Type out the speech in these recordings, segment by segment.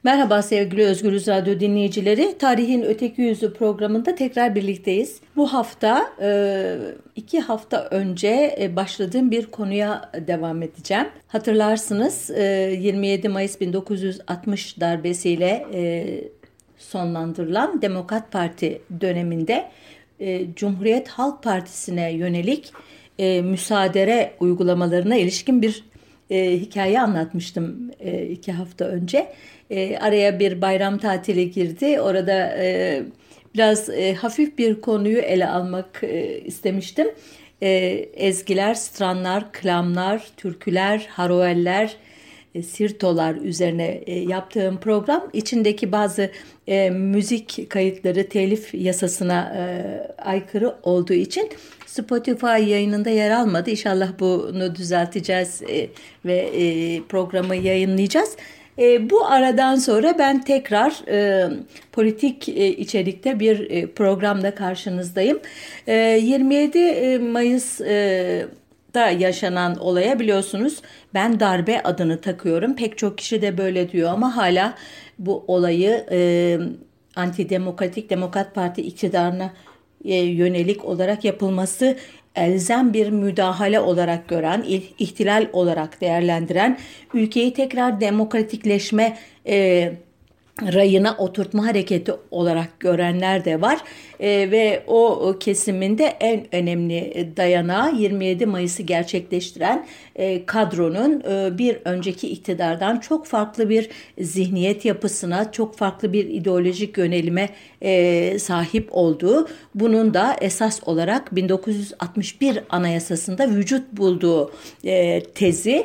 Merhaba sevgili Özgürüz Radyo dinleyicileri. Tarihin Öteki Yüzü programında tekrar birlikteyiz. Bu hafta 2 hafta önce başladığım bir konuya devam edeceğim. Hatırlarsınız 27 Mayıs 1960 darbesiyle sonlandırılan Demokrat Parti döneminde Cumhuriyet Halk Partisi'ne yönelik müsaadere uygulamalarına ilişkin bir hikaye anlatmıştım 2 hafta önce. Araya bir bayram tatili girdi. Orada biraz hafif bir konuyu ele almak istemiştim. Ezgiler, stranlar, klamlar, türküler, haroeller, sirtolar üzerine yaptığım program içindeki bazı müzik kayıtları telif yasasına aykırı olduğu için Spotify yayınında yer almadı. İnşallah bunu düzelteceğiz ve programı yayınlayacağız. Bu aradan sonra ben tekrar politik içerikte bir programda karşınızdayım. 27 Mayıs da yaşanan olaya biliyorsunuz ben darbe adını takıyorum. Pek çok kişi de böyle diyor ama hala bu olayı antidemokratik Demokrat Parti iktidarına yönelik olarak yapılması elzem bir müdahale olarak gören, ihtilal olarak değerlendiren, ülkeyi tekrar demokratikleşme rayına oturtma hareketi olarak görenler de var. Ve o kesiminde en önemli dayanağı 27 Mayıs'ı gerçekleştiren kadronun bir önceki iktidardan çok farklı bir zihniyet yapısına, çok farklı bir ideolojik yönelime sahip olduğu, bunun da esas olarak 1961 Anayasası'nda vücut bulduğu tezi.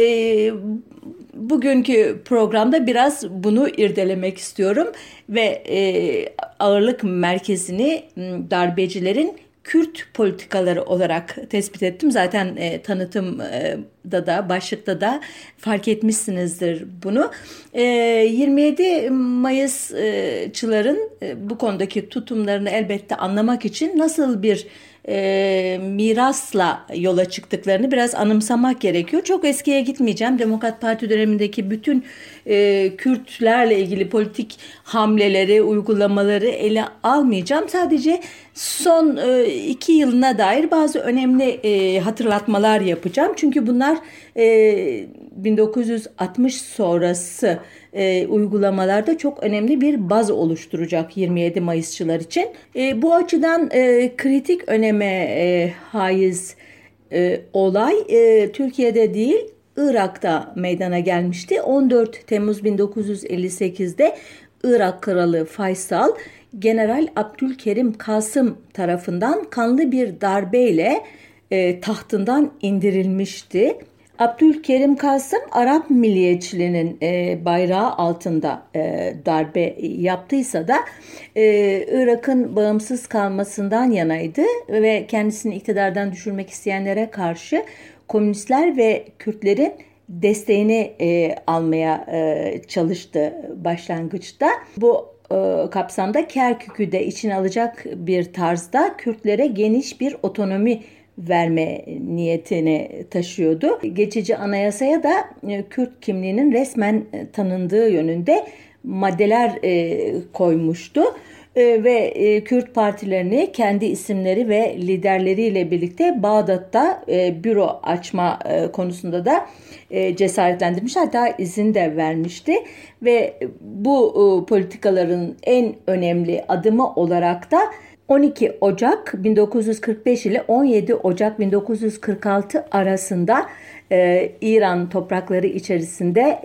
Bugünkü programda biraz bunu irdelemek istiyorum ve ağırlık merkezini darbecilerin Kürt politikaları olarak tespit ettim. Zaten tanıtımda da başlıkta da fark etmişsinizdir bunu. 27 Mayısçıların bu konudaki tutumlarını elbette anlamak için nasıl bir mirasla yola çıktıklarını biraz anımsamak gerekiyor. Çok eskiye gitmeyeceğim. Demokrat Parti dönemindeki bütün Kürtlerle ilgili politik hamleleri, uygulamaları ele almayacağım. Sadece son 2 yılına dair bazı önemli hatırlatmalar yapacağım. Çünkü bunlar 1960 sonrası uygulamalarda çok önemli bir baz oluşturacak 27 Mayısçılar için. Bu açıdan kritik öneme haiz olay Türkiye'de değil Irak'ta meydana gelmişti. 14 Temmuz 1958'de Irak Kralı Faysal, General Abdülkerim Kasım tarafından kanlı bir darbeyle tahtından indirilmişti. Abdülkerim Kasım Arap milliyetçiliğinin bayrağı altında darbe yaptıysa da Irak'ın bağımsız kalmasından yanaydı ve kendisini iktidardan düşürmek isteyenlere karşı komünistler ve Kürtlerin desteğini almaya çalıştı başlangıçta. Bu kapsamda Kerkük'ü de içine alacak bir tarzda Kürtlere geniş bir otonomi verme niyetini taşıyordu. Geçici anayasaya da Kürt kimliğinin resmen tanındığı yönünde maddeler koymuştu. Ve Kürt partilerini kendi isimleri ve liderleriyle birlikte Bağdat'ta büro açma konusunda da cesaretlendirmiş, hatta izin de vermişti ve bu politikaların en önemli adımı olarak da 12 Ocak 1945 ile 17 Ocak 1946 arasında İran toprakları içerisinde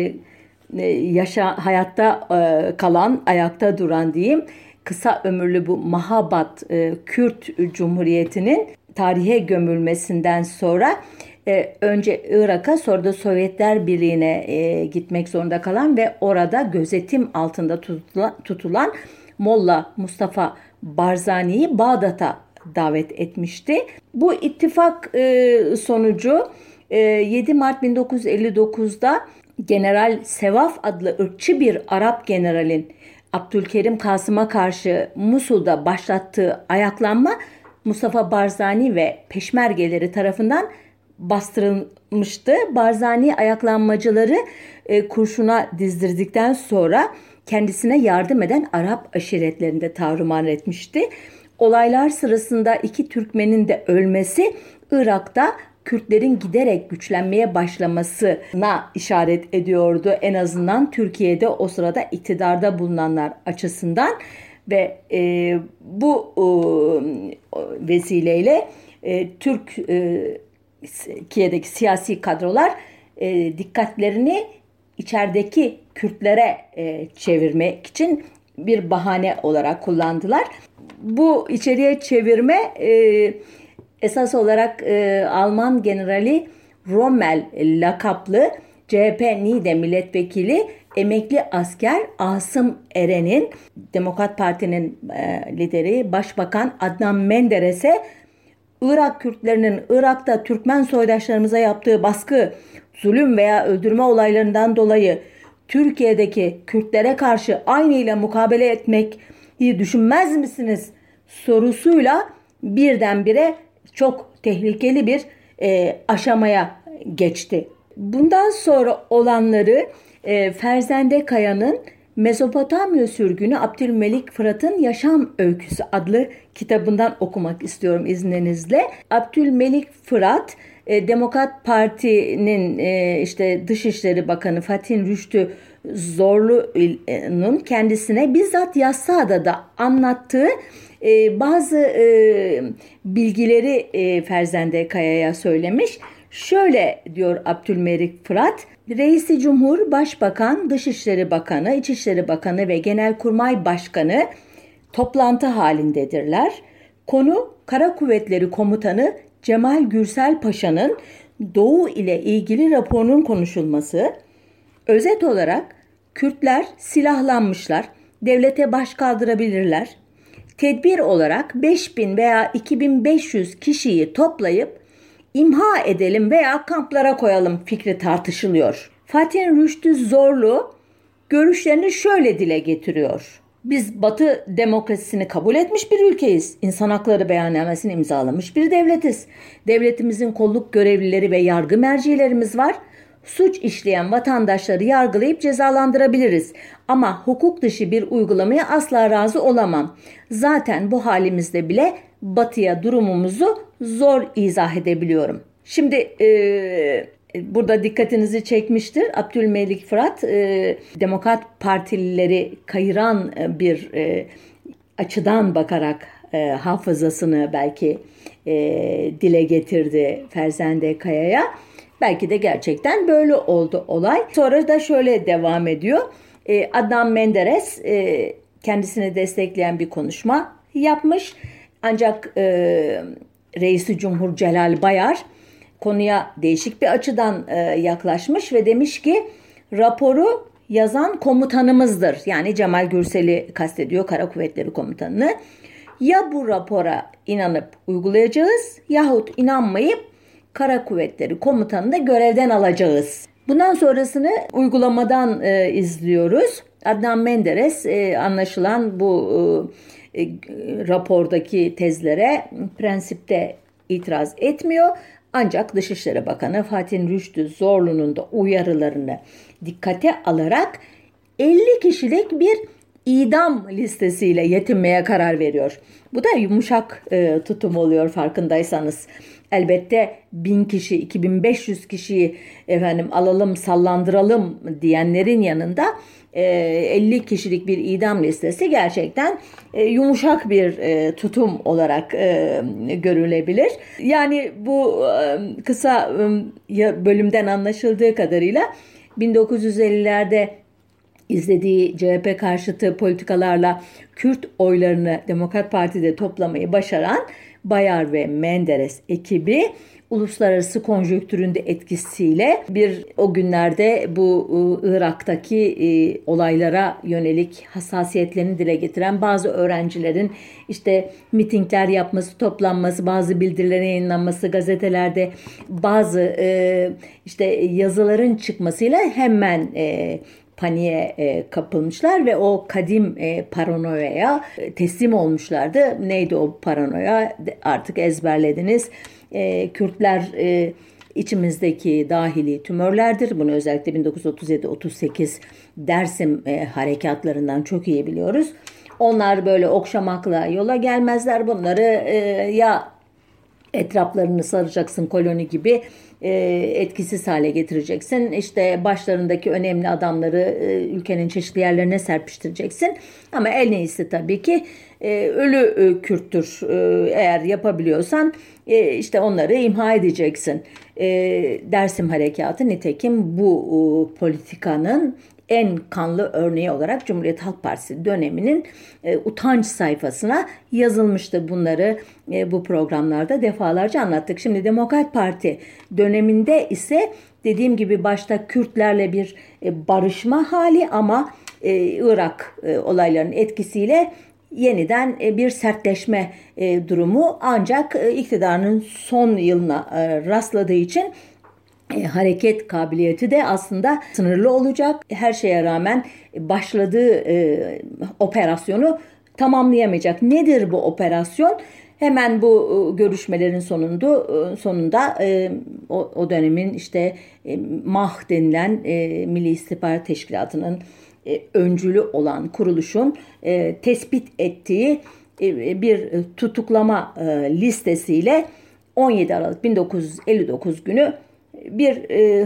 hayatta kalan, ayakta duran diyeyim, kısa ömürlü bu Mahabat Kürt Cumhuriyeti'nin tarihe gömülmesinden sonra önce Irak'a, sonra da Sovyetler Birliği'ne gitmek zorunda kalan ve orada gözetim altında tutulan Molla Mustafa Barzani'yi Bağdat'a davet etmişti. Bu ittifak sonucu 7 Mart 1959'da General Sevaf adlı ırkçı bir Arap generalin Abdülkerim Kasım'a karşı Musul'da başlattığı ayaklanma Mustafa Barzani ve peşmergeleri tarafından bastırılmıştı. Barzani ayaklanmacıları kurşuna dizdirdikten sonra kendisine yardım eden Arap aşiretlerini de tarumar etmişti. Olaylar sırasında 2 Türkmenin de ölmesi Irak'ta Kürtlerin giderek güçlenmeye başlamasına işaret ediyordu. En azından Türkiye'de o sırada iktidarda bulunanlar açısından ve bu vesileyle Türkiye'deki siyasi kadrolar dikkatlerini içerideki Kürtlere çevirmek için bir bahane olarak kullandılar. Bu içeriye çevirme esas olarak Alman generali Rommel lakaplı CHP Niğde milletvekili emekli asker Asım Eren'in Demokrat Parti'nin lideri Başbakan Adnan Menderes'e Irak Kürtlerinin Irak'ta Türkmen soydaşlarımıza yaptığı baskı, zulüm veya öldürme olaylarından dolayı Türkiye'deki Kürtlere karşı aynıyla mukabele etmeyi düşünmez misiniz sorusuyla birdenbire çok tehlikeli bir aşamaya geçti. Bundan sonra olanları Ferzende Kaya'nın Mezopotamya Sürgünü Abdülmelik Fırat'ın Yaşam Öyküsü adlı kitabından okumak istiyorum izninizle. Abdülmelik Fırat Demokrat Parti'nin işte Dışişleri Bakanı Fatih Rüştü Zorlu'nun kendisine bizzat Yassıada'da anlattığı bazı bilgileri Ferzende Kaya'ya söylemiş. Şöyle diyor Abdülmelik Fırat, Reisi Cumhur, Başbakan, Dışişleri Bakanı, İçişleri Bakanı ve Genelkurmay Başkanı toplantı halindedirler. Konu Kara Kuvvetleri Komutanı Cemal Gürsel Paşa'nın Doğu ile ilgili raporunun konuşulması. Özet olarak Kürtler silahlanmışlar, devlete baş kaldırabilirler. Tedbir olarak 5000 veya 2500 kişiyi toplayıp imha edelim veya kamplara koyalım fikri tartışılıyor. Fatih Rüştü Zorlu görüşlerini şöyle dile getiriyor. Biz Batı demokrasisini kabul etmiş bir ülkeyiz. İnsan hakları beyannamesini imzalamış bir devletiz. Devletimizin kolluk görevlileri ve yargı mercilerimiz var. Suç işleyen vatandaşları yargılayıp cezalandırabiliriz. Ama hukuk dışı bir uygulamaya asla razı olamam. Zaten bu halimizde bile Batı'ya durumumuzu zor izah edebiliyorum. Şimdi burada dikkatinizi çekmiştir. Abdülmelik Fırat Demokrat Partilileri kayıran bir açıdan bakarak hafızasını belki dile getirdi Ferzende Kaya'ya. Belki de gerçekten böyle oldu olay. Sonra da şöyle devam ediyor. Adnan Menderes kendisini destekleyen bir konuşma yapmış. Ancak Reisi Cumhur Celal Bayar konuya değişik bir açıdan yaklaşmış ve demiş ki raporu yazan komutanımızdır. Yani Cemal Gürsel'i kastediyor, Kara Kuvvetleri Komutanını. Ya bu rapora inanıp uygulayacağız yahut inanmayıp Kara Kuvvetleri Komutanını da görevden alacağız. Bundan sonrasını uygulamadan izliyoruz. Adnan Menderes anlaşılan bu rapordaki tezlere prensipte itiraz etmiyor. Ancak Dışişleri Bakanı Fatih Rüştü Zorlu'nun da uyarılarını dikkate alarak 50 kişilik bir idam listesiyle yetinmeye karar veriyor. Bu da yumuşak tutum oluyor farkındaysanız. Elbette 1000 kişi, 2500 kişiyi alalım, sallandıralım diyenlerin yanında 50 kişilik bir idam listesi gerçekten yumuşak bir tutum olarak görülebilir. Yani bu kısa bölümden anlaşıldığı kadarıyla 1950'lerde izlediği CHP karşıtı politikalarla Kürt oylarını Demokrat Parti'de toplamayı başaran Bayar ve Menderes ekibi uluslararası konjonktürün de etkisiyle o günlerde bu Irak'taki olaylara yönelik hassasiyetlerini dile getiren bazı öğrencilerin işte mitingler yapması, toplanması, bazı bildirilerin yayınlanması, gazetelerde bazı işte yazıların çıkmasıyla hemen paniğe kapılmışlar ve o kadim paranoyaya teslim olmuşlardı. Neydi o paranoya? Artık ezberlediniz. Kürtler içimizdeki dahili tümörlerdir. Bunu özellikle 1937-38 Dersim harekatlarından çok iyi biliyoruz. Onlar böyle okşamakla yola gelmezler. Bunları ya etraflarını saracaksın, koloni gibi etkisiz hale getireceksin. İşte başlarındaki önemli adamları ülkenin çeşitli yerlerine serpiştireceksin. Ama en iyisi tabii ki ölü Kürttür. Eğer yapabiliyorsan işte onları imha edeceksin. Dersim Harekatı nitekim bu politikanın en kanlı örneği olarak Cumhuriyet Halk Partisi döneminin utanç sayfasına yazılmıştı. Bunları bu programlarda defalarca anlattık. Şimdi Demokrat Parti döneminde ise dediğim gibi başta Kürtlerle bir barışma hali ama Irak olaylarının etkisiyle yeniden bir sertleşme durumu, ancak iktidarının son yılına rastladığı için hareket kabiliyeti de aslında sınırlı olacak. Her şeye rağmen başladığı operasyonu tamamlayamayacak. Nedir bu operasyon? Hemen bu görüşmelerin sonunda o dönemin işte MAH denilen Milli İstihbarat Teşkilatı'nın öncülü olan kuruluşun tespit ettiği bir tutuklama listesiyle 17 Aralık 1959 günü bir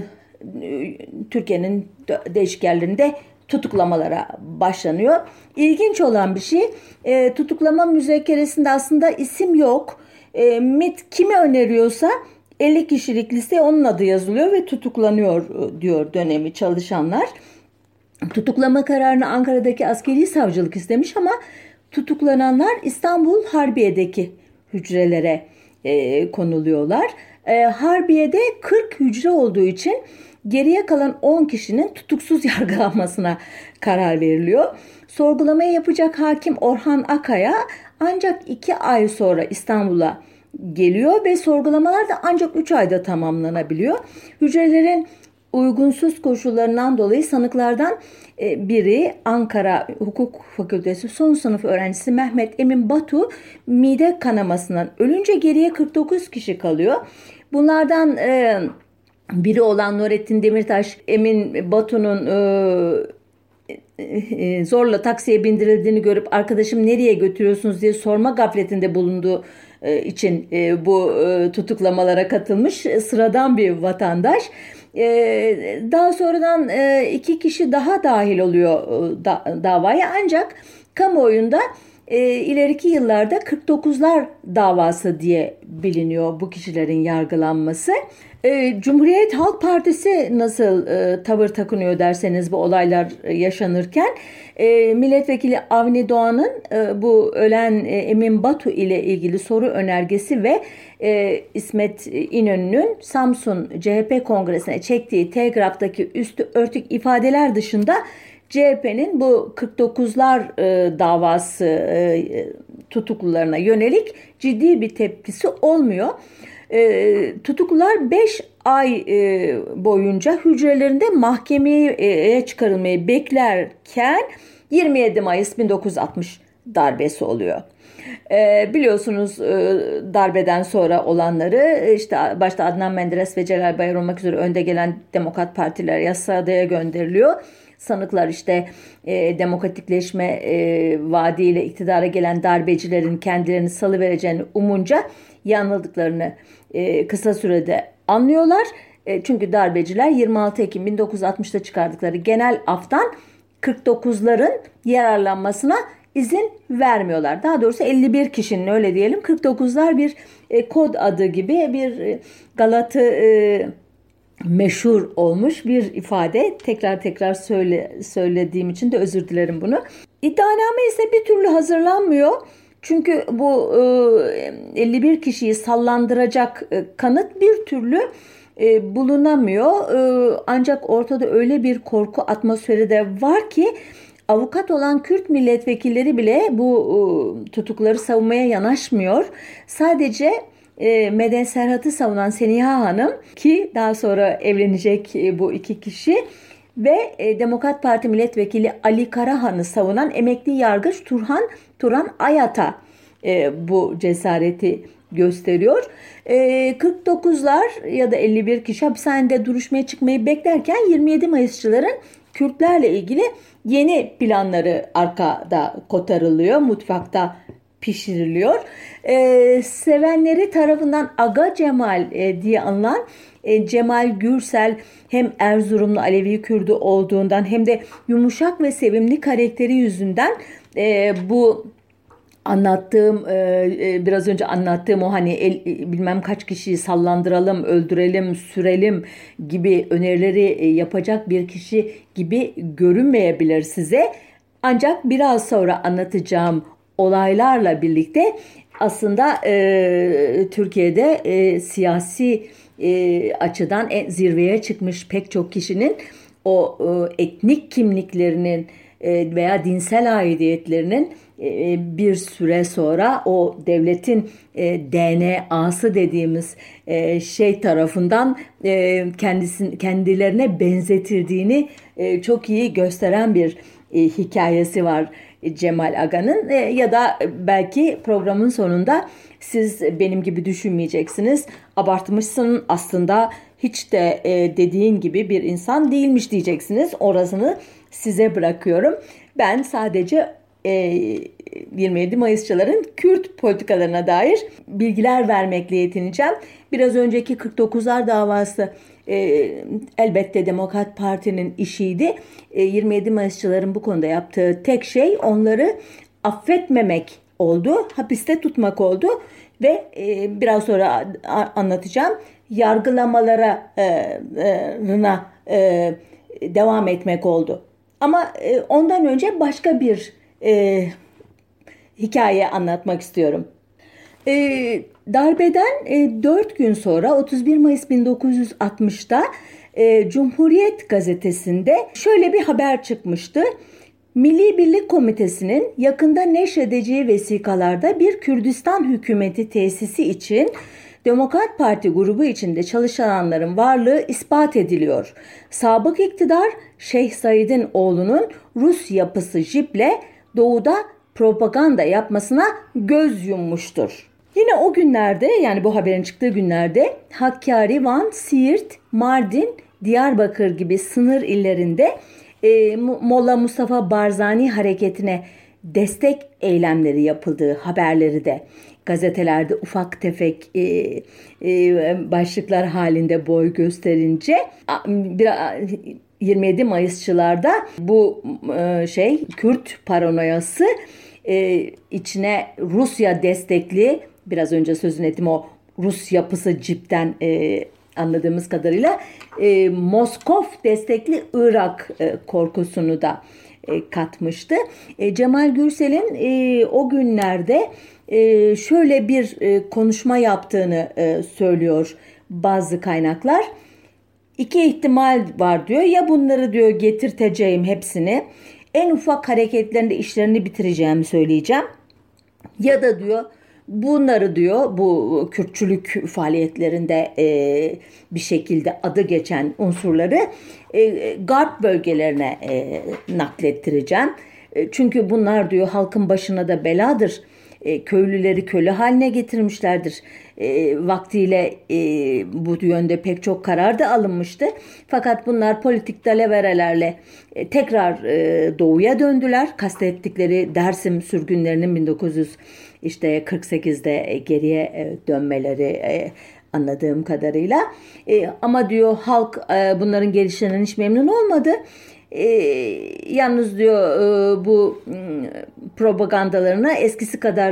Türkiye'nin değişik yerlerinde tutuklamalara başlanıyor. İlginç olan bir şey, tutuklama müzekkeresinde aslında isim yok. MİT kimi öneriyorsa 50 kişilik liste onun adı yazılıyor ve tutuklanıyor diyor dönemi çalışanlar. Tutuklama kararını Ankara'daki askeri savcılık istemiş ama tutuklananlar İstanbul Harbiye'deki hücrelere konuluyorlar. Harbiye'de 40 hücre olduğu için geriye kalan 10 kişinin tutuksuz yargılanmasına karar veriliyor. Sorgulamayı yapacak hakim Orhan Akaya ancak 2 ay sonra İstanbul'a geliyor ve sorgulamalar da ancak 3 ayda tamamlanabiliyor. Hücrelerin uygunsuz koşullarından dolayı sanıklardan biri Ankara Hukuk Fakültesi son sınıf öğrencisi Mehmet Emin Batu mide kanamasından ölünce geriye 49 kişi kalıyor. Bunlardan biri olan Nurettin Demirtaş, Emin Batu'nun zorla taksiye bindirildiğini görüp arkadaşım nereye götürüyorsunuz diye sorma gafletinde bulunduğu için bu tutuklamalara katılmış sıradan bir vatandaş. Daha sonradan 2 kişi daha dahil oluyor davaya, ancak kamuoyunda ileriki yıllarda 49'lar davası diye biliniyor bu kişilerin yargılanması. Cumhuriyet Halk Partisi nasıl tavır takınıyor derseniz bu olaylar yaşanırken, Milletvekili Avni Doğan'ın bu ölen Emin Batu ile ilgili soru önergesi ve İsmet İnönü'nün Samsun CHP Kongresi'ne çektiği telgraftaki üstü örtük ifadeler dışında CHP'nin bu 49'lar davası tutuklularına yönelik ciddi bir tepkisi olmuyor. Tutuklular 5 ay boyunca hücrelerinde mahkemeye çıkarılmayı beklerken 27 Mayıs 1960 darbesi oluyor. Biliyorsunuz darbeden sonra olanları, işte başta Adnan Menderes ve Celal Bayar olmak üzere önde gelen Demokrat Partiler yasaadaya gönderiliyor. Sanıklar işte demokratikleşme vaadiyle iktidara gelen darbecilerin kendilerini salıvereceğini umunca yanıldıklarını kısa sürede anlıyorlar. Çünkü darbeciler 26 Ekim 1960'ta çıkardıkları genel aftan 49'ların yararlanmasına izin vermiyorlar. Daha doğrusu 51 kişinin, öyle diyelim, 49'lar bir kod adı gibi bir Galat'ı meşhur olmuş bir ifade. Tekrar söylediğim için de özür dilerim bunu. İddianame ise bir türlü hazırlanmıyor. Çünkü bu 51 kişiyi sallandıracak kanıt bir türlü bulunamıyor. Ancak ortada öyle bir korku atmosferi de var ki avukat olan Kürt milletvekilleri bile bu tutukları savunmaya yanaşmıyor. Sadece Meden Serhat'ı savunan Seniha Hanım, ki daha sonra evlenecek bu 2 kişi, ve Demokrat Parti milletvekili Ali Karahan'ı savunan emekli yargıç Turan Ayat'a bu cesareti gösteriyor. 49'lar ya da 51 kişi hapishanede duruşmaya çıkmayı beklerken 27 Mayısçıların Kürtlerle ilgili yeni planları arkada kotarılıyor, mutfakta pişiriliyor. Sevenleri tarafından Aga Cemal diye anılan Cemal Gürsel hem Erzurumlu Alevi Kürdü olduğundan hem de yumuşak ve sevimli karakteri yüzünden bu anlattığım biraz önce anlattığım o hani bilmem kaç kişiyi sallandıralım, öldürelim, sürelim gibi önerileri yapacak bir kişi gibi görünmeyebilir size. Ancak biraz sonra anlatacağım olaylarla birlikte aslında Türkiye'de siyasi açıdan zirveye çıkmış pek çok kişinin o etnik kimliklerinin veya dinsel aidiyetlerinin bir süre sonra o devletin DNA'sı dediğimiz şey tarafından kendilerine benzetildiğini çok iyi gösteren bir hikayesi var Cemal Aga'nın. Ya da belki programın sonunda siz benim gibi düşünmeyeceksiniz. Abartmışsın, aslında hiç de dediğin gibi bir insan değilmiş diyeceksiniz. Orasını size bırakıyorum. Ben sadece 27 Mayısçıların Kürt politikalarına dair bilgiler vermekle yetineceğim. Biraz önceki 49'lar davası elbette Demokrat Parti'nin işiydi. 27 Mayısçıların bu konuda yaptığı tek şey onları affetmemek oldu, hapiste tutmak oldu ve biraz sonra anlatacağım yargılamalarına devam etmek oldu. Ama ondan önce başka bir hikaye anlatmak istiyorum. Darbeden 4 gün sonra 31 Mayıs 1960'da Cumhuriyet Gazetesi'nde şöyle bir haber çıkmıştı. Milli Birlik Komitesi'nin yakında neşredeceği vesikalarda bir Kürdistan hükümeti tesisi için Demokrat Parti grubu içinde çalışanların varlığı ispat ediliyor. Sabık iktidar Şeyh Said'in oğlunun Rus yapısı JİP'le doğuda propaganda yapmasına göz yummuştur. Yine o günlerde, yani bu haberin çıktığı günlerde Hakkari, Van, Siirt, Mardin, Diyarbakır gibi sınır illerinde Molla Mustafa Barzani hareketine destek eylemleri yapıldığı haberleri de gazetelerde ufak tefek başlıklar halinde boy gösterince 27 Mayısçılarda bu Kürt paranoyası içine Rusya destekli, biraz önce sözünü ettim o Rus yapısı JİP'ten anladığımız kadarıyla Moskov destekli Irak korkusunu da katmıştı. Cemal Gürsel'in o günlerde şöyle bir konuşma yaptığını söylüyor bazı kaynaklar. İki ihtimal var diyor. Ya bunları diyor getirteceğim hepsini, en ufak hareketlerinde işlerini bitireceğimi söyleyeceğim. Ya da diyor bunları diyor bu Kürtçülük faaliyetlerinde bir şekilde adı geçen unsurları Garp bölgelerine naklettireceğim. Çünkü bunlar diyor halkın başına da beladır. Köylüleri köle haline getirmişlerdir. Vaktiyle bu yönde pek çok karar da alınmıştı. Fakat bunlar politik dalaverelerle tekrar doğuya döndüler. Kastettikleri Dersim sürgünlerinin 1948'de geriye dönmeleri anladığım kadarıyla. Ama diyor halk bunların gelişlerinden hiç memnun olmadı. Yalnız diyor bu propagandalarına eskisi kadar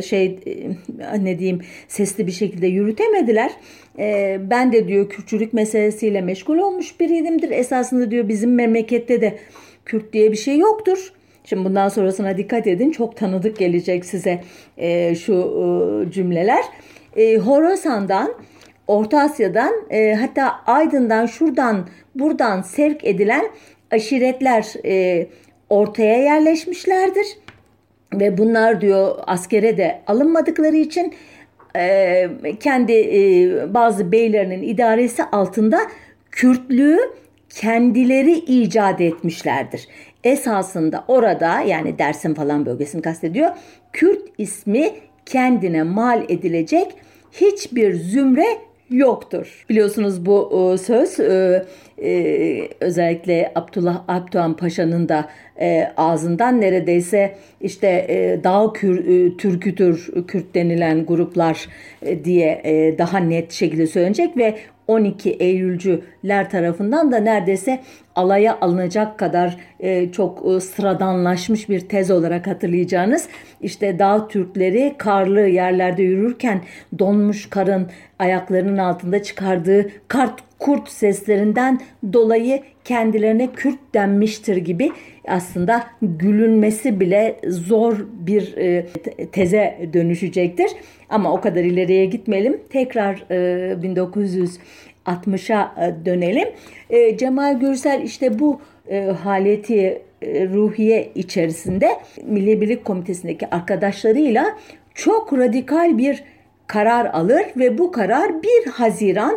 sesli bir şekilde yürütemediler. Ben de diyor Kürtçülük meselesiyle meşgul olmuş biriyimdir. Esasında diyor bizim memlekette de Kürt diye bir şey yoktur. Şimdi bundan sonrasına dikkat edin, çok tanıdık gelecek size şu cümleler. Horasan'dan, Orta Asya'dan, hatta Aydın'dan, şuradan buradan sevk edilen aşiretler ortaya yerleşmişlerdir. Ve bunlar diyor askere de alınmadıkları için kendi bazı beylerinin idaresi altında Kürtlüğü kendileri icat etmişlerdir. Esasında orada, yani Dersim falan bölgesini kastediyor, Kürt ismi kendine mal edilecek hiçbir zümre yoktur. Biliyorsunuz bu söz özellikle Abdullah Alpdoğan Paşa'nın da ağzından neredeyse işte Dağ Türküdür Kürt denilen gruplar diye daha net şekilde söylenecek ve 12 Eylülcüler tarafından da neredeyse alaya alınacak kadar çok sıradanlaşmış bir tez olarak hatırlayacağınız işte Dağ Türkleri karlı yerlerde yürürken donmuş karın ayaklarının altında çıkardığı kurt seslerinden dolayı kendilerine Kürt denmiştir gibi aslında gülünmesi bile zor bir teze dönüşecektir. Ama o kadar ileriye gitmeyelim. Tekrar 1960'a dönelim. Cemal Gürsel işte bu haleti ruhiye içerisinde Milli Birlik Komitesi'ndeki arkadaşlarıyla çok radikal bir karar alır ve bu karar 1 Haziran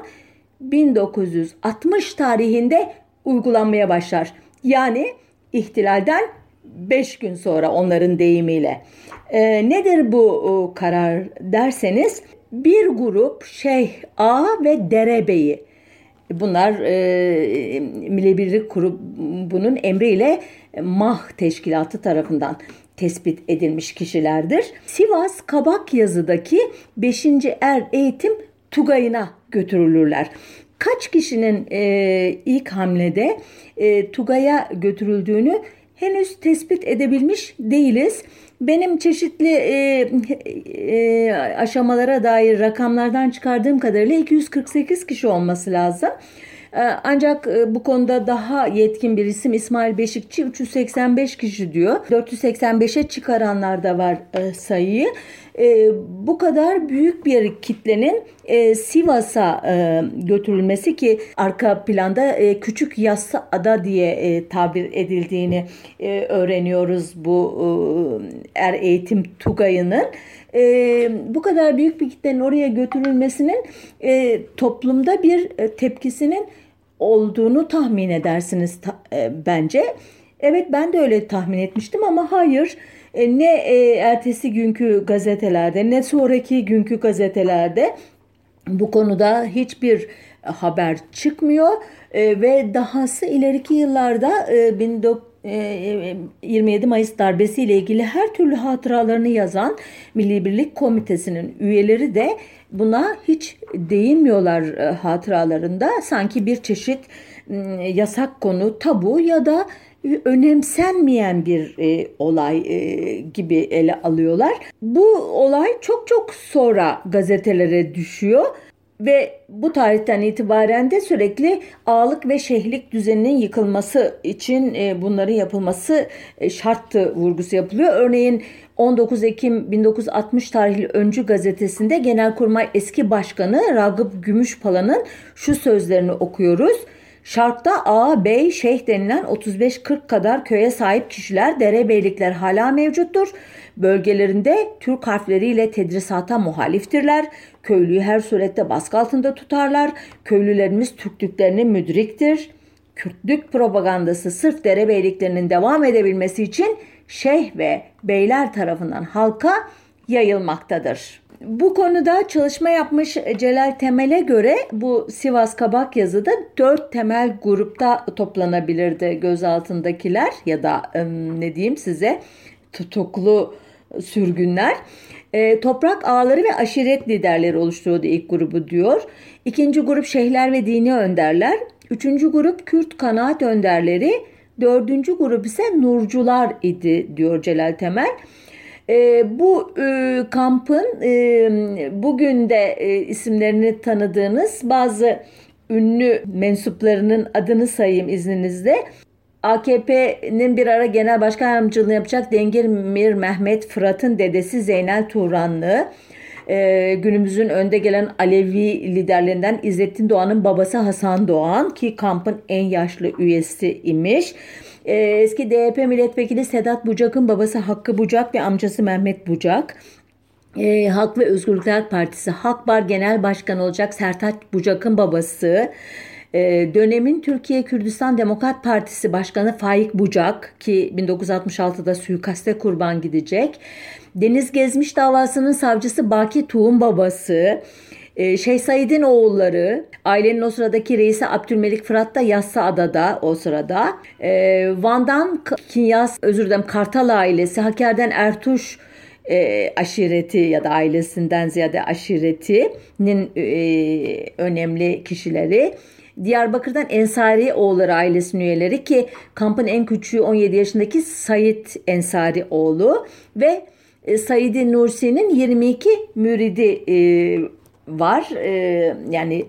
1960 tarihinde uygulanmaya başlar. Yani ihtilalden 5 gün sonra onların deyimiyle. Nedir bu karar derseniz bir grup Şeyh Ağa ve Derebeyi, bunlar Milli Birlik Grubu'nun emriyle MAH Teşkilatı tarafından tespit edilmiş kişilerdir. Sivas Kabakyazı'daki 5. Er Eğitim Tugayı'na götürülürler. Kaç kişinin ilk hamlede Tugay'a götürüldüğünü henüz tespit edebilmiş değiliz. Benim çeşitli aşamalara dair rakamlardan çıkardığım kadarıyla 248 kişi olması lazım. Ancak bu konuda daha yetkin bir isim İsmail Beşikçi 385 kişi diyor. 485'e çıkaranlar da var sayıyı. Bu kadar büyük bir kitlenin Sivas'a götürülmesi ki arka planda Küçük Yassıada diye tabir edildiğini öğreniyoruz bu er eğitim Tugayı'nın. Bu kadar büyük bir kitlenin oraya götürülmesinin toplumda bir tepkisinin olduğunu tahmin edersiniz bence. Evet, ben de öyle tahmin etmiştim ama hayır. Ne ertesi günkü gazetelerde ne sonraki günkü gazetelerde bu konuda hiçbir haber çıkmıyor ve dahası ileriki yıllarda 27 Mayıs darbesiyle ilgili her türlü hatıralarını yazan Milli Birlik Komitesi'nin üyeleri de buna hiç değinmiyorlar hatıralarında. Sanki bir çeşit yasak konu, tabu ya da önemsenmeyen bir olay gibi ele alıyorlar. Bu olay çok çok sonra gazetelere düşüyor ve bu tarihten itibaren de sürekli ağalık ve şeyhlik düzeninin yıkılması için bunların yapılması şarttı vurgusu yapılıyor. Örneğin 19 Ekim 1960 tarihli Öncü gazetesinde Genelkurmay eski başkanı Ragıp Gümüşpala'nın şu sözlerini okuyoruz. Şark'ta ağa, bey, şeyh denilen 35-40 kadar köye sahip kişiler, derebeylikler hala mevcuttur. Bölgelerinde Türk harfleriyle tedrisata muhaliftirler. Köylüyü her surette baskı altında tutarlar. Köylülerimiz Türklüklerine müdriktir. Kürtlük propagandası sırf derebeyliklerinin devam edebilmesi için şeyh ve beyler tarafından halka yayılmaktadır. Bu konuda çalışma yapmış Celal Temel'e göre bu Sivas Kabakyazı'da 4 temel grupta toplanabilirdi gözaltındakiler ya da ne diyeyim size tutuklu sürgünler. Toprak ağaları ve aşiret liderleri oluşturuyordu ilk grubu diyor. İkinci grup şeyhler ve dini önderler. Üçüncü grup Kürt kanaat önderleri. Dördüncü grup ise nurcular idi diyor Celal Temel. Bu kampın bugün de isimlerini tanıdığınız bazı ünlü mensuplarının adını sayayım izninizle. AKP'nin bir ara genel başkan yardımcılığını yapacak Dengirmir Mehmet Fırat'ın dedesi Zeynel Turanlı, günümüzün önde gelen Alevi liderlerinden İzzettin Doğan'ın babası Hasan Doğan ki kampın en yaşlı üyesi imiş. Eski DYP milletvekili Sedat Bucak'ın babası Hakkı Bucak ve amcası Mehmet Bucak. Halk ve Özgürlükler Partisi Halkbar Genel Başkanı olacak Sertaç Bucak'ın babası. Dönemin Türkiye Kürdistan Demokrat Partisi Başkanı Faik Bucak ki 1966'da suikaste kurban gidecek. Deniz Gezmiş davasının savcısı Baki Tuğ'un babası, Şeyh Said'in oğulları, ailenin o sıradaki reisi Abdülmelik Fırat da Yassıada'da o sırada. Van'dan Kartal ailesi, Hakkari'den Ertuş aşireti ya da ailesinden ziyade aşiretinin önemli kişileri. Diyarbakır'dan Ensari oğulları ailesinin üyeleri ki kampın en küçüğü 17 yaşındaki Said Ensari oğlu ve Said Nursi'nin 22 müridi var. Yani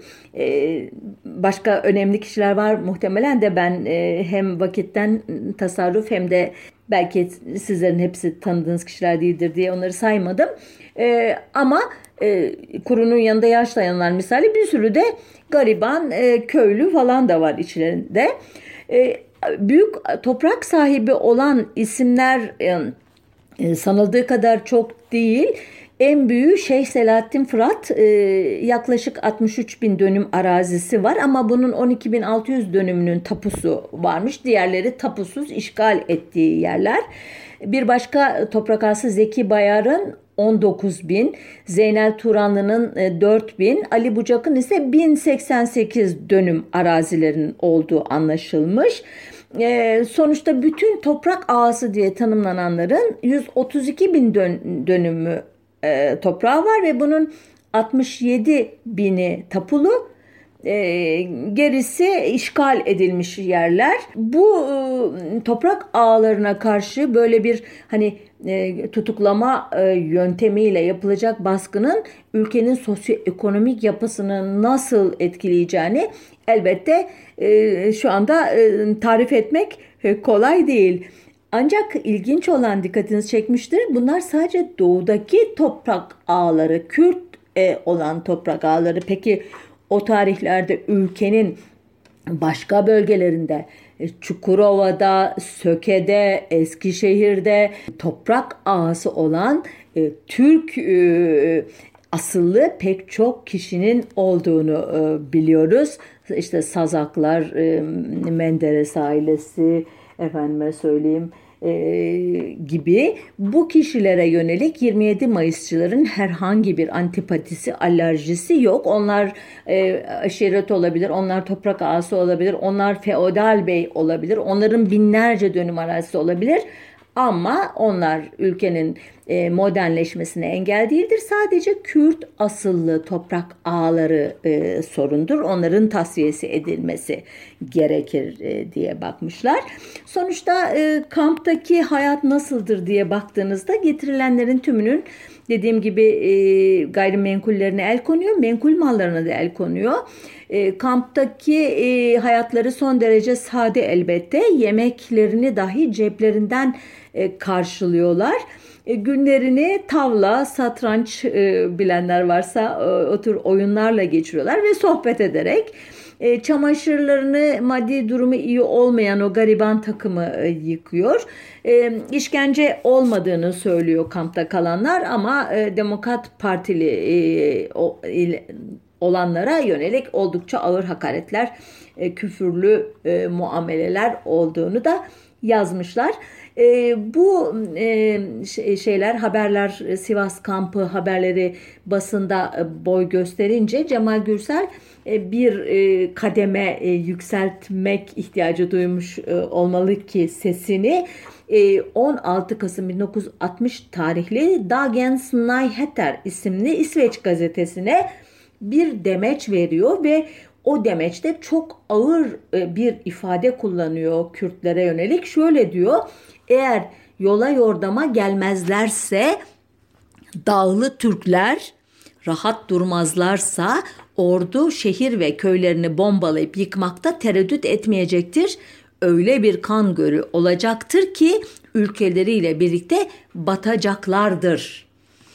başka önemli kişiler var muhtemelen de ben hem vakitten tasarruf hem de belki sizlerin hepsi tanıdığınız kişiler değildir diye onları saymadım. Ama kurunun yanında yaşlayanlar misali bir sürü de gariban köylü falan da var içlerinde. Büyük toprak sahibi olan isimler sanıldığı kadar çok değil. En büyüğü Şeyh Selahattin Fırat, yaklaşık 63 bin dönüm arazisi var ama bunun 12.600 dönümünün tapusu varmış. Diğerleri tapusuz işgal ettiği yerler. Bir başka toprak ağası Zeki Bayar'ın 19 bin, Zeynel Turanlı'nın 4 bin, Ali Bucak'ın ise 1088 dönüm arazilerin olduğu anlaşılmış. Sonuçta bütün toprak ağası diye tanımlananların 132 bin dönümü toprağı var ve bunun 67 bini tapulu, gerisi işgal edilmiş yerler. Bu toprak ağlarına karşı böyle bir tutuklama yöntemiyle yapılacak baskının ülkenin sosyoekonomik yapısını nasıl etkileyeceğini elbette şu anda tarif etmek kolay değil. Ancak ilginç olan dikkatinizi çekmiştir. Bunlar sadece doğudaki toprak ağları, Kürt olan toprak ağları. Peki o tarihlerde ülkenin başka bölgelerinde, Çukurova'da, Söke'de, Eskişehir'de toprak ağası olan Türk asıllı pek çok kişinin olduğunu biliyoruz. İşte Sazaklar, Menderes ailesi, efendime söyleyeyim gibi bu kişilere yönelik 27 Mayısçıların herhangi bir antipatisi, alerjisi yok. Onlar aşiret olabilir, onlar toprak ağası olabilir, onlar feodal bey olabilir, onların binlerce dönüm arazisi olabilir. Ama onlar ülkenin modernleşmesine engel değildir. Sadece Kürt asıllı toprak ağları sorundur. Onların tasfiyesi edilmesi gerekir diye bakmışlar. Sonuçta kamptaki hayat nasıldır diye baktığınızda getirilenlerin tümünün dediğim gibi gayrimenkullerine el konuyor, menkul mallarına da el konuyor. Kamptaki hayatları son derece sade elbette. Yemeklerini dahi ceplerinden karşılıyorlar. Günlerini tavla, satranç bilenler varsa o tür oyunlarla geçiriyorlar ve sohbet ederek. Çamaşırlarını maddi durumu iyi olmayan o gariban takımı yıkıyor. İşkence olmadığını söylüyor kampta kalanlar ama Demokrat Partili olanlara yönelik oldukça ağır hakaretler, küfürlü muameleler olduğunu da yazmışlar. Bu haberler, Sivas kampı haberleri basında boy gösterince Cemal Gürsel bir kademe yükseltmek ihtiyacı duymuş olmalı ki sesini 16 Kasım 1960 tarihli Dagens Nyheter isimli İsveç gazetesine bir demeç veriyor ve o demeçte çok ağır bir ifade kullanıyor Kürtlere yönelik. Şöyle diyor: eğer yola yordama gelmezlerse, dağlı Türkler rahat durmazlarsa ordu şehir ve köylerini bombalayıp yıkmakta tereddüt etmeyecektir. Öyle bir kan gölü olacaktır ki ülkeleriyle birlikte batacaklardır.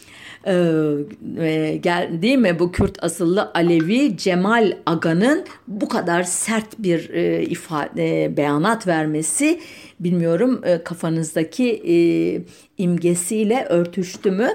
Değil mi bu Kürt asıllı Alevi Cemal Aga'nın bu kadar sert bir beyanat vermesi, bilmiyorum kafanızdaki imgesiyle örtüştü mü?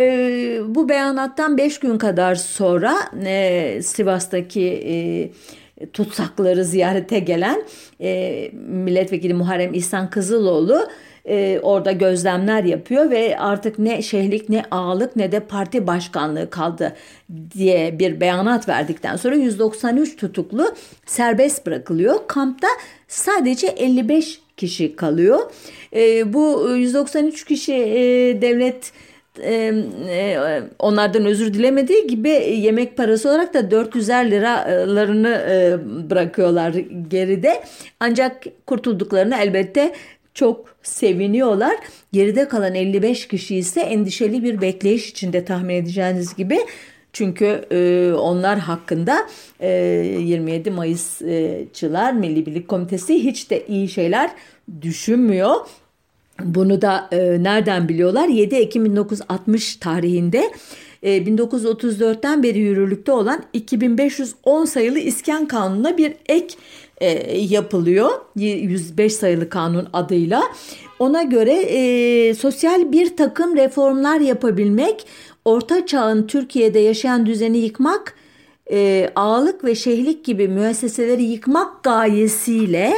Bu beyanattan 5 gün kadar sonra Sivas'taki tutsakları ziyarete gelen milletvekili Muharrem İhsan Kızıloğlu orada gözlemler yapıyor ve artık ne şeyhlik ne ağalık ne de parti başkanlığı kaldı diye bir beyanat verdikten sonra 193 tutuklu serbest bırakılıyor. Kampta sadece 55 kişi kalıyor. Bu 193 kişi devlet onlardan özür dilemediği gibi yemek parası olarak da 400'er liralarını bırakıyorlar geride. Ancak kurtulduklarını elbette çok seviniyorlar. Geride kalan 55 kişi ise endişeli bir bekleyiş içinde, tahmin edeceğiniz gibi. Çünkü onlar hakkında 27 Mayısçılar Milli Birlik Komitesi hiç de iyi şeyler düşünmüyor. Bunu da nereden biliyorlar? 7 Ekim 1960 tarihinde 1934'ten beri yürürlükte olan 2510 sayılı İskan Kanunu'na bir ek yapılıyor. 105 sayılı kanun adıyla. Ona göre sosyal bir takım reformlar yapabilmek, Orta Çağ'ın Türkiye'de yaşayan düzeni yıkmak, ağalık ve şeyhlik gibi müesseseleri yıkmak gayesiyle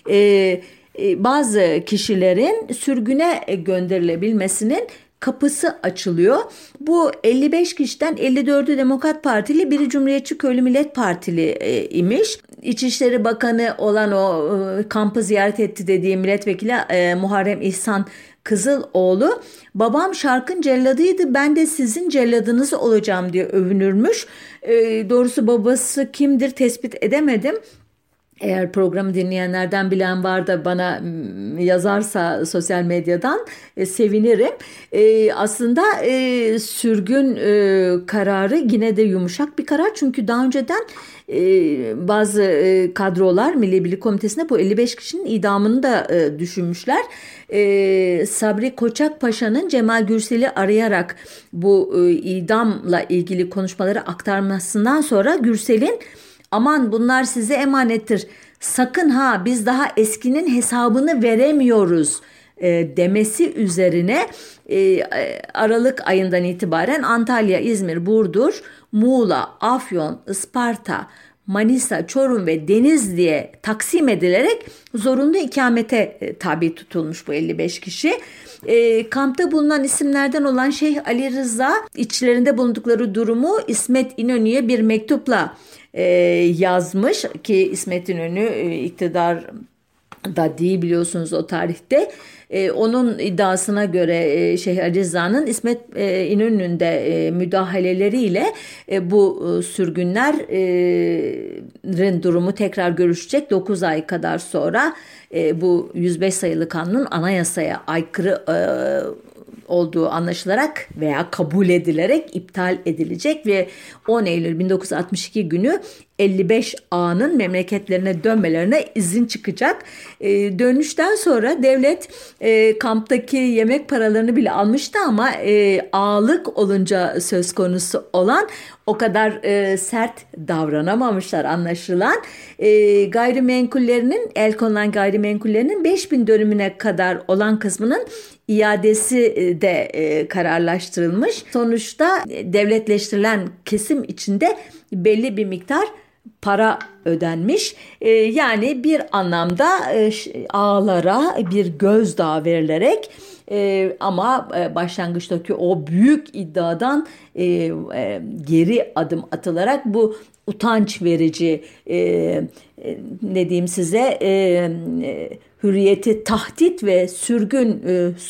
bazı kişilerin sürgüne gönderilebilmesinin kapısı açılıyor. Bu 55 kişiden 54'ü Demokrat Partili, biri Cumhuriyetçi Köylü Millet Partili imiş. İçişleri Bakanı olan o kampı ziyaret etti dediği milletvekili Muharrem İhsan Kızıloğlu, babam şarkın celladıydı, ben de sizin celladınız olacağım diye övünürmüş. Doğrusu babası kimdir tespit edemedim. Eğer programı dinleyenlerden bilen var da bana yazarsa sosyal medyadan sevinirim. Aslında sürgün kararı yine de yumuşak bir karar. Çünkü daha önceden bazı kadrolar Milli Birlik Komitesi'nde bu 55 kişinin idamını da düşünmüşler. Sabri Koçak Paşa'nın Cemal Gürsel'i arayarak bu idamla ilgili konuşmaları aktarmasından sonra Gürsel'in "Aman bunlar size emanettir. Sakın ha, biz daha eskinin hesabını veremiyoruz" demesi üzerine Aralık ayından itibaren Antalya, İzmir, Burdur, Muğla, Afyon, Isparta, Manisa, Çorum ve Denizli'ye taksim edilerek zorunlu ikamete tabi tutulmuş bu 55 kişi. Kampta bulunan isimlerden olan Şeyh Ali Rıza içlerinde bulundukları durumu İsmet İnönü'ye bir mektupla yazmış ki İsmet İnönü iktidar da değil biliyorsunuz o tarihte. Onun iddiasına göre Şeyh Ali Rıza'nın İsmet İnönü'nün de müdahaleleriyle bu sürgünlerin durumu tekrar görüşecek. 9 ay kadar sonra bu 105 sayılı kanunun anayasaya aykırı olduğu anlaşılarak veya kabul edilerek iptal edilecek ve 10 Eylül 1962 günü 55 ağanın memleketlerine dönmelerine izin çıkacak. Dönüşten sonra devlet kamptaki yemek paralarını bile almıştı ama ağalık olunca söz konusu olan o kadar sert davranamamışlar anlaşılan. Gayrimenkullerinin, el konulan gayrimenkullerinin 5000 dönümüne kadar olan kısmının iadesi de kararlaştırılmış. Sonuçta devletleştirilen kesim içinde belli bir miktar para ödenmiş. Yani bir anlamda ağalara bir gözdağı verilerek ama başlangıçtaki o büyük iddiadan geri adım atılarak bu utanç verici ne diyeyim size hürriyeti tahdit ve sürgün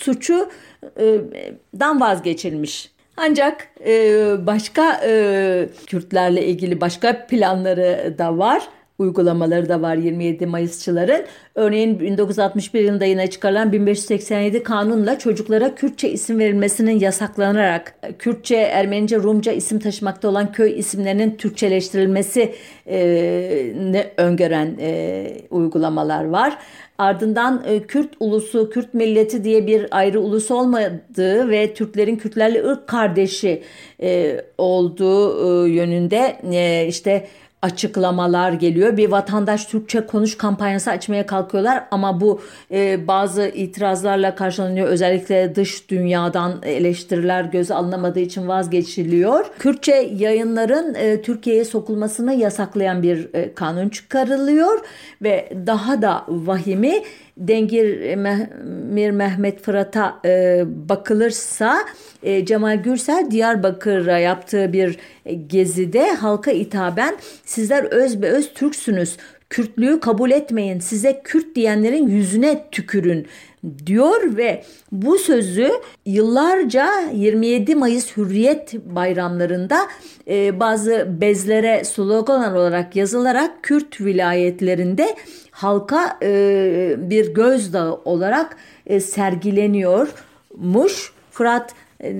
suçundan vazgeçilmiş. Ancak başka Kürtlerle ilgili başka planları da var, uygulamaları da var 27 Mayısçıların. Örneğin 1961 yılında yine çıkarılan 1587 kanunla çocuklara Kürtçe isim verilmesinin yasaklanarak Kürtçe, Ermenice, Rumca isim taşımakta olan köy isimlerinin Türkçeleştirilmesi ne öngören uygulamalar var. Ardından Kürt ulusu, Kürt milleti diye bir ayrı ulus olmadığı ve Türklerin Kürtlerle ırk kardeşi olduğu yönünde işte açıklamalar geliyor. Bir vatandaş Türkçe konuş kampanyası açmaya kalkıyorlar ama bu bazı itirazlarla karşılanıyor. Özellikle dış dünyadan eleştiriler göze alınamadığı için vazgeçiliyor. Kürtçe yayınların Türkiye'ye sokulmasını yasaklayan bir kanun çıkarılıyor ve daha da vahimi Dengir Mir Mehmet Fırat'a bakılırsa Cemal Gürsel Diyarbakır'a yaptığı bir gezide halka hitaben sizler özbeöz Türksünüz. Kürtlüğü kabul etmeyin. Size Kürt diyenlerin yüzüne tükürün diyor ve bu sözü yıllarca 27 Mayıs Hürriyet bayramlarında bazı bezlere slogan olarak yazılarak Kürt vilayetlerinde halka bir gözdağı olarak sergileniyormuş. Fırat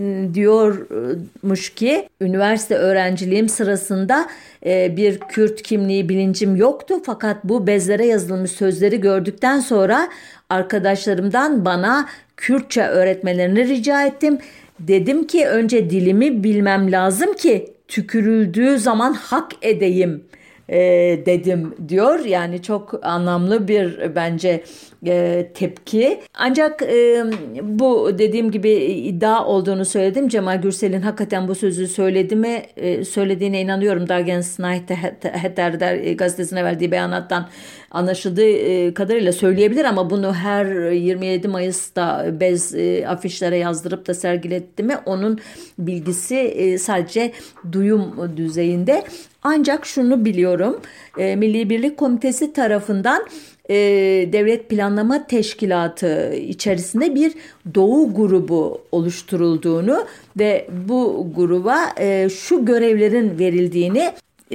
diyormuş ki üniversite öğrenciliğim sırasında bir Kürt kimliği bilincim yoktu fakat bu bezlere yazılmış sözleri gördükten sonra arkadaşlarımdan bana Kürtçe öğretmelerini rica ettim. Dedim ki önce dilimi bilmem lazım ki tükürüldüğü zaman hak edeyim dedim diyor. Yani çok anlamlı bir bence tepki. Ancak bu dediğim gibi iddia olduğunu söyledim. Cemal Gürsel'in hakikaten bu sözü söylediğine inanıyorum. Dagens Nyheter der gazetesine verdiği beyanattan anlaşıldığı kadarıyla söyleyebilir ama bunu her 27 Mayıs'ta bez afişlere yazdırıp da sergiletti mi onun bilgisi sadece duyum düzeyinde. Ancak şunu biliyorum, Milli Birlik Komitesi tarafından Devlet Planlama Teşkilatı içerisinde bir Doğu grubu oluşturulduğunu ve bu gruba şu görevlerin verildiğini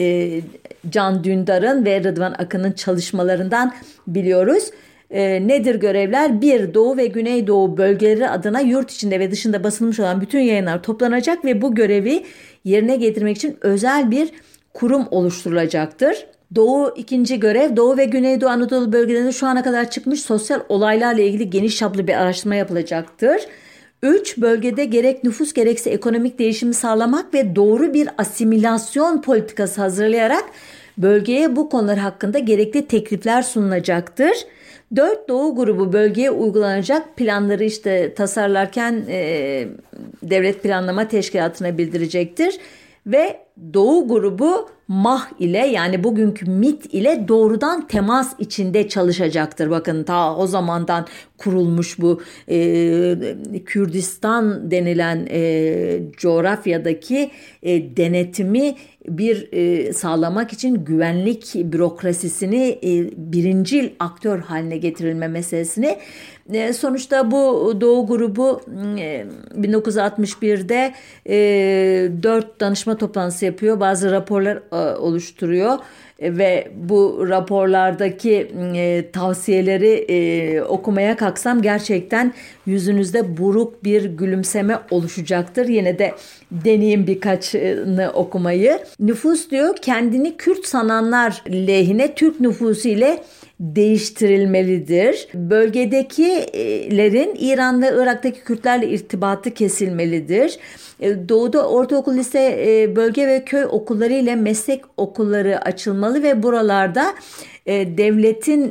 Can Dündar'ın ve Rıdvan Akın'ın çalışmalarından biliyoruz. Nedir görevler? 1. Doğu ve Güneydoğu bölgeleri adına yurt içinde ve dışında basılmış olan bütün yayınlar toplanacak ve bu görevi yerine getirmek için özel bir kurum oluşturulacaktır. İkinci görev, Doğu ve Güneydoğu Anadolu bölgelerinde şu ana kadar çıkmış sosyal olaylarla ilgili geniş çaplı bir araştırma yapılacaktır. 3. Bölgede gerek nüfus gerekse ekonomik değişimi sağlamak ve doğru bir asimilasyon politikası hazırlayarak bölgeye bu konular hakkında gerekli teklifler sunulacaktır. 4. Doğu grubu bölgeye uygulanacak planları tasarlarken Devlet Planlama Teşkilatı'na bildirecektir. Ve Doğu grubu MAH ile yani bugünkü MİT ile doğrudan temas içinde çalışacaktır. Bakın ta o zamandan kurulmuş bu Kürdistan denilen coğrafyadaki denetimi sağlamak için güvenlik bürokrasisini birincil aktör haline getirilme meselesini sonuçta bu Doğu grubu 1961'de 4 danışma toplantısı yapıyor. Bazı raporlar oluşturuyor ve bu raporlardaki tavsiyeleri okumaya kalksam gerçekten yüzünüzde buruk bir gülümseme oluşacaktır. Yine de deneyeyim birkaçını okumayı. Nüfus diyor kendini Kürt sananlar lehine Türk nüfusu ile değiştirilmelidir. Bölgedekilerin İran ve Irak'taki Kürtlerle irtibatı kesilmelidir. Doğuda ortaokul, lise, bölge ve köy okulları ile meslek okulları açılmalı ve buralarda devletin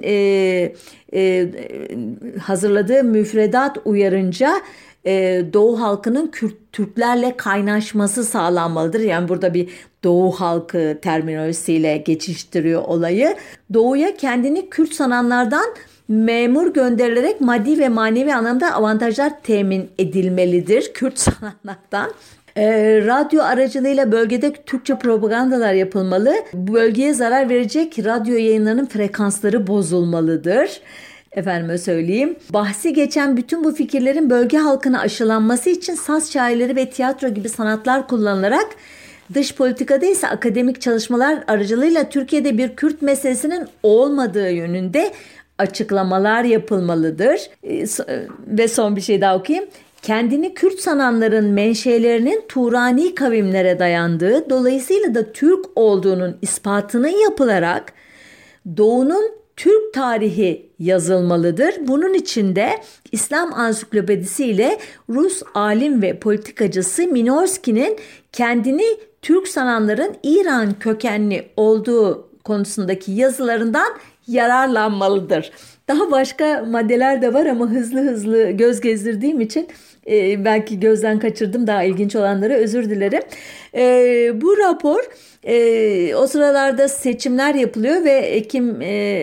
hazırladığı müfredat uyarınca Doğu halkının Türklerle kaynaşması sağlanmalıdır. Yani burada bir Doğu halkı terminolojisiyle geçiştiriyor olayı. Doğuya kendini Kürt sananlardan memur gönderilerek maddi ve manevi anlamda avantajlar temin edilmelidir Kürt sananlardan. Radyo aracılığıyla bölgede Türkçe propagandalar yapılmalı. Bu bölgeye zarar verecek radyo yayınlarının frekansları bozulmalıdır. Efendime söyleyeyim. Bahsi geçen bütün bu fikirlerin bölge halkına aşılanması için saz şairleri ve tiyatro gibi sanatlar kullanılarak dış politikada ise akademik çalışmalar aracılığıyla Türkiye'de bir Kürt meselesinin olmadığı yönünde açıklamalar yapılmalıdır. Ve son bir şey daha okuyayım. Kendini Kürt sananların menşelerinin Turani kavimlere dayandığı, dolayısıyla da Türk olduğunun ispatının yapılarak Doğu'nun Türk tarihi yazılmalıdır. Bunun için de İslam Ansiklopedisi ile Rus alim ve politikacısı Minorski'nin kendini Türk sananların İran kökenli olduğu konusundaki yazılarından yararlanmalıdır. Daha başka maddeler de var ama hızlı hızlı göz gezdirdiğim için belki gözden kaçırdım daha ilginç olanları, özür dilerim. Bu rapor o sıralarda seçimler yapılıyor ve Ekim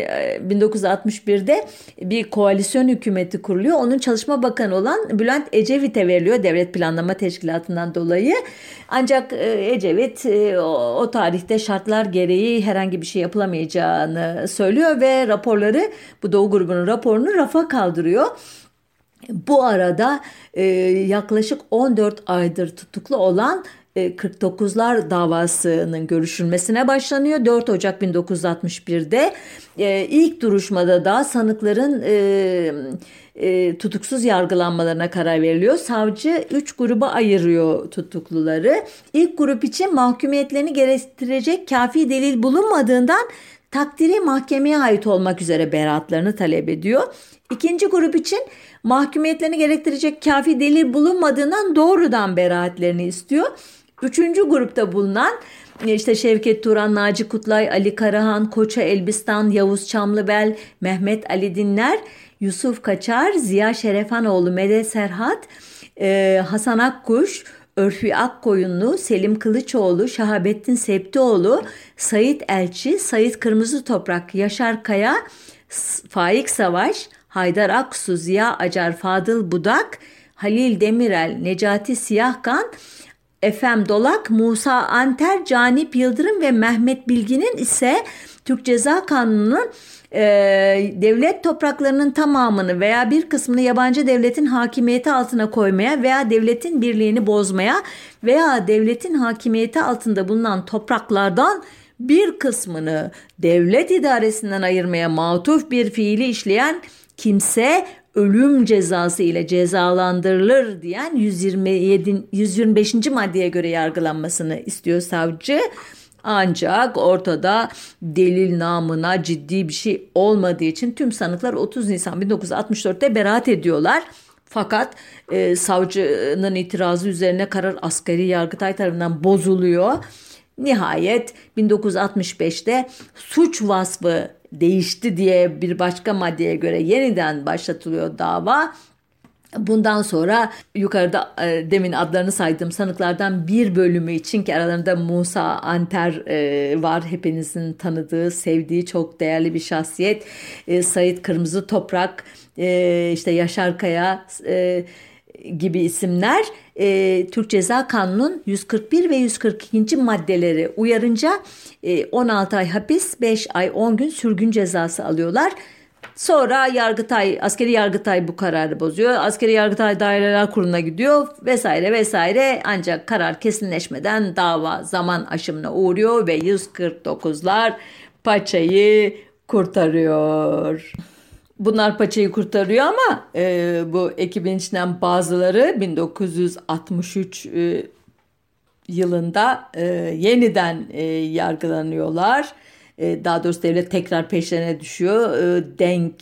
1961'de bir koalisyon hükümeti kuruluyor. Onun çalışma bakanı olan Bülent Ecevit'e veriliyor Devlet Planlama Teşkilatı'ndan dolayı. Ancak Ecevit o tarihte şartlar gereği herhangi bir şey yapılamayacağını söylüyor ve raporları, bu Doğu grubunun raporunu rafa kaldırıyor. Bu arada yaklaşık 14 aydır tutuklu olan 49'lar davasının görüşülmesine başlanıyor. 4 Ocak 1961'de ilk duruşmada da sanıkların tutuksuz yargılanmalarına karar veriliyor. Savcı 3 gruba ayırıyor tutukluları. İlk grup için mahkumiyetlerini gerektirecek kafi delil bulunmadığından takdiri mahkemeye ait olmak üzere beraatlarını talep ediyor. İkinci grup için mahkumiyetlerini gerektirecek kafi delil bulunmadığından doğrudan beraatlerini istiyor. Üçüncü grupta bulunan işte Şevket Turan, Naci Kutlay, Ali Karahan, Koça Elbistan, Yavuz Çamlıbel, Mehmet Ali Dinler, Yusuf Kaçar, Ziya Şerefanoğlu, Medet Serhat, Hasan Akkuş, Örfü Akkoyunlu, Selim Kılıçoğlu, Şahabettin Septioğlu, Sait Elçi, Sait Kırmızıtoprak, Yaşar Kaya, Faik Savaş, Haydar Aksu, Ziya Acar, Fadıl Budak, Halil Demirel, Necati Siyahkan, Efem Dolak, Musa Anter, Canip Yıldırım ve Mehmet Bilgin'in ise Türk Ceza Kanunu'nun devlet topraklarının tamamını veya bir kısmını yabancı devletin hakimiyeti altına koymaya veya devletin birliğini bozmaya veya devletin hakimiyeti altında bulunan topraklardan bir kısmını devlet idaresinden ayırmaya matuf bir fiili işleyen kimse ölüm cezası ile cezalandırılır diyen 125. maddeye göre yargılanmasını istiyor savcı. Ancak ortada delil namına ciddi bir şey olmadığı için tüm sanıklar 30 Nisan 1964'te beraat ediyorlar. Fakat savcının itirazı üzerine karar askeri Yargıtay tarafından bozuluyor. Nihayet 1965'te suç vasfı değişti diye bir başka maddeye göre yeniden başlatılıyor dava. Bundan sonra yukarıda demin adlarını saydığım sanıklardan bir bölümü için, ki aralarında Musa Anter var, hepinizin tanıdığı, sevdiği çok değerli bir şahsiyet. Sait Kırmızıtoprak, işte Yaşar Kaya gibi isimler Türk Ceza Kanunu'nun 141 ve 142. maddeleri uyarınca 16 ay hapis, 5 ay 10 gün sürgün cezası alıyorlar. Sonra askeri Yargıtay bu kararı bozuyor. Askeri Yargıtay Daireler Kurulu'na gidiyor vesaire vesaire. Ancak karar kesinleşmeden dava zaman aşımına uğruyor ve 149'lar paçayı kurtarıyor. Bunlar paçayı kurtarıyor ama bu ekibin içinden bazıları 1963 yılında yeniden yargılanıyorlar. Daha doğrusu devlet tekrar peşlerine düşüyor. Denk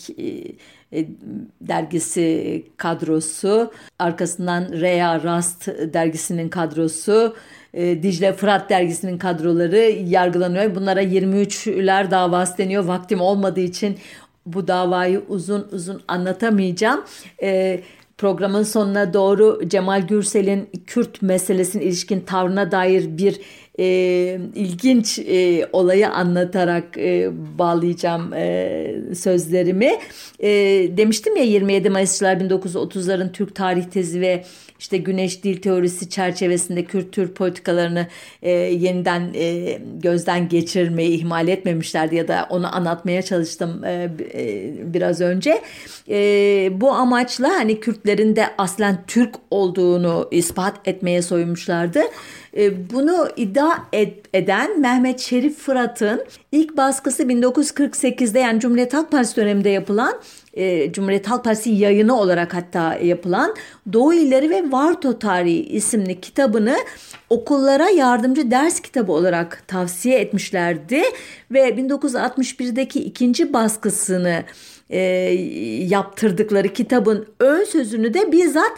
dergisi kadrosu, arkasından Rea Rast dergisinin kadrosu, Dicle Fırat dergisinin kadroları yargılanıyor. Bunlara 23'ler davası deniyor. Vaktim olmadığı için bu davayı uzun uzun anlatamayacağım. Programın sonuna doğru Cemal Gürsel'in Kürt meselesine ilişkin tavrına dair bir ilginç olayı anlatarak bağlayacağım sözlerimi. Demiştim ya, 27 Mayısçılar 1930'ların Türk tarih tezi ve işte Güneş Dil Teorisi çerçevesinde Kürt Türk politikalarını yeniden gözden geçirmeyi ihmal etmemişlerdi ya da onu anlatmaya çalıştım biraz önce. Bu amaçla hani Kürtlerin de aslen Türk olduğunu ispat etmeye soyunmuşlardı. Bunu iddia eden Mehmet Şerif Fırat'ın ilk baskısı 1948'de, yani Cumhuriyet Halk Partisi döneminde yapılan, Cumhuriyet Halk Partisi yayını olarak hatta yapılan Doğu İlleri ve Varto Tarihi isimli kitabını okullara yardımcı ders kitabı olarak tavsiye etmişlerdi ve 1961'deki ikinci baskısını yaptırdıkları kitabın ön sözünü de bizzat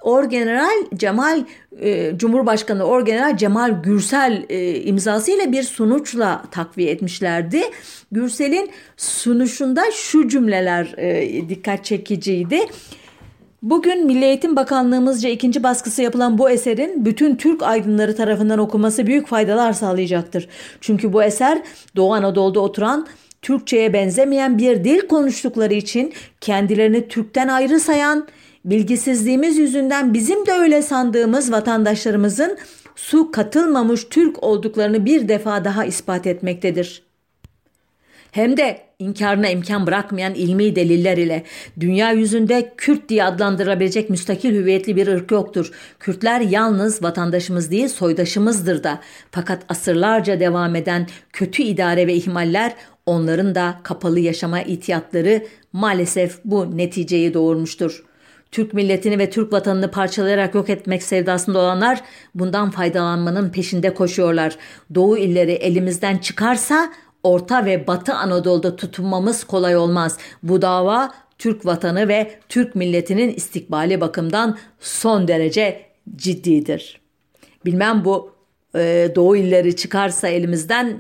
Cumhurbaşkanı Orgeneral Cemal Gürsel imzasıyla bir sunuçla takviye etmişlerdi. Gürsel'in sunuşunda şu cümleler dikkat çekiciydi. Bugün Milli Eğitim Bakanlığımızca ikinci baskısı yapılan bu eserin bütün Türk aydınları tarafından okunması büyük faydalar sağlayacaktır. Çünkü bu eser Doğu Anadolu'da oturan, Türkçe'ye benzemeyen bir dil konuştukları için kendilerini Türk'ten ayrı sayan, bilgisizliğimiz yüzünden bizim de öyle sandığımız vatandaşlarımızın su katılmamış Türk olduklarını bir defa daha ispat etmektedir. Hem de inkarına imkan bırakmayan ilmi deliller ile dünya yüzünde Kürt diye adlandırılabilecek müstakil hüviyetli bir ırk yoktur. Kürtler yalnız vatandaşımız değil, soydaşımızdır da. Fakat asırlarca devam eden kötü idare ve ihmaller, onların da kapalı yaşama ihtiyatları maalesef bu neticeyi doğurmuştur. Türk milletini ve Türk vatanını parçalayarak yok etmek sevdasında olanlar bundan faydalanmanın peşinde koşuyorlar. Doğu illeri elimizden çıkarsa Orta ve Batı Anadolu'da tutunmamız kolay olmaz. Bu dava Türk vatanı ve Türk milletinin istikbali bakımından son derece ciddidir. Bilmem bu Doğu illeri çıkarsa elimizden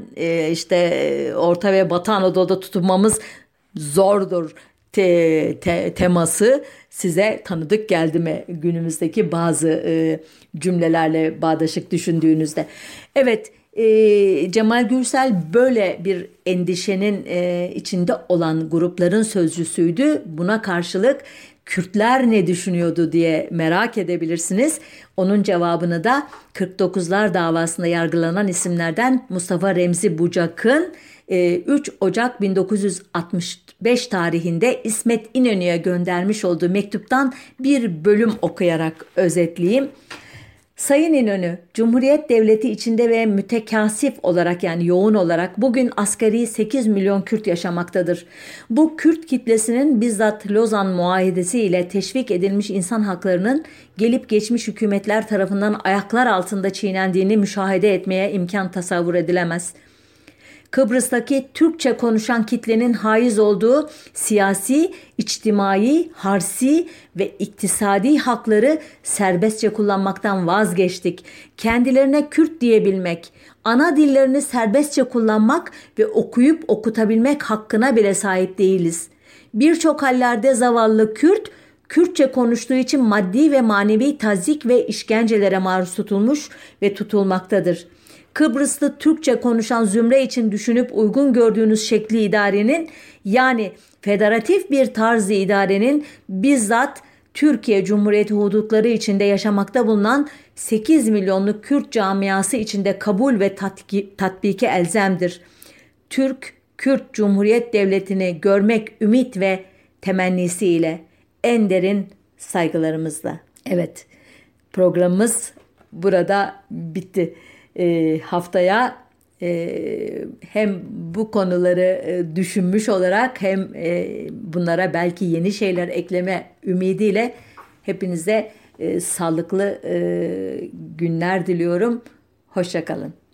Orta ve Batı Anadolu'da tutunmamız zordur teması size tanıdık geldi mi günümüzdeki bazı cümlelerle bağdaşık düşündüğünüzde? Evet, Cemal Gürsel böyle bir endişenin içinde olan grupların sözcüsüydü. Buna karşılık Kürtler ne düşünüyordu diye merak edebilirsiniz. Onun cevabını da 49'lar davasında yargılanan isimlerden Mustafa Remzi Bucak'ın 3 Ocak 1965 tarihinde İsmet İnönü'ye göndermiş olduğu mektuptan bir bölüm okuyarak özetleyeyim. Sayın İnönü, Cumhuriyet Devleti içinde ve mütekasif olarak, yani yoğun olarak bugün asgari 8 milyon Kürt yaşamaktadır. Bu Kürt kitlesinin bizzat Lozan Muahedesi ile teşvik edilmiş insan haklarının gelip geçmiş hükümetler tarafından ayaklar altında çiğnendiğini müşahede etmeye imkan tasavvur edilemez. Kıbrıs'taki Türkçe konuşan kitlenin haiz olduğu siyasi, içtimai, harsi ve iktisadi hakları serbestçe kullanmaktan vazgeçtik. Kendilerine Kürt diyebilmek, ana dillerini serbestçe kullanmak ve okuyup okutabilmek hakkına bile sahip değiliz. Birçok hallerde zavallı Kürt, Kürtçe konuştuğu için maddi ve manevi tazyik ve işkencelere maruz tutulmuş ve tutulmaktadır. Kıbrıslı Türkçe konuşan zümre için düşünüp uygun gördüğünüz şekli idarenin, yani federatif bir tarzı idarenin bizzat Türkiye Cumhuriyeti hudutları içinde yaşamakta bulunan 8 milyonluk Kürt camiası içinde kabul ve tatbiki elzemdir. Türk-Kürt Cumhuriyet Devleti'ni görmek ümit ve temennisiyle en derin saygılarımızla. Evet, programımız burada bitti. Haftaya hem bu konuları düşünmüş olarak hem bunlara belki yeni şeyler ekleme ümidiyle hepinize sağlıklı günler diliyorum. Hoşça kalın.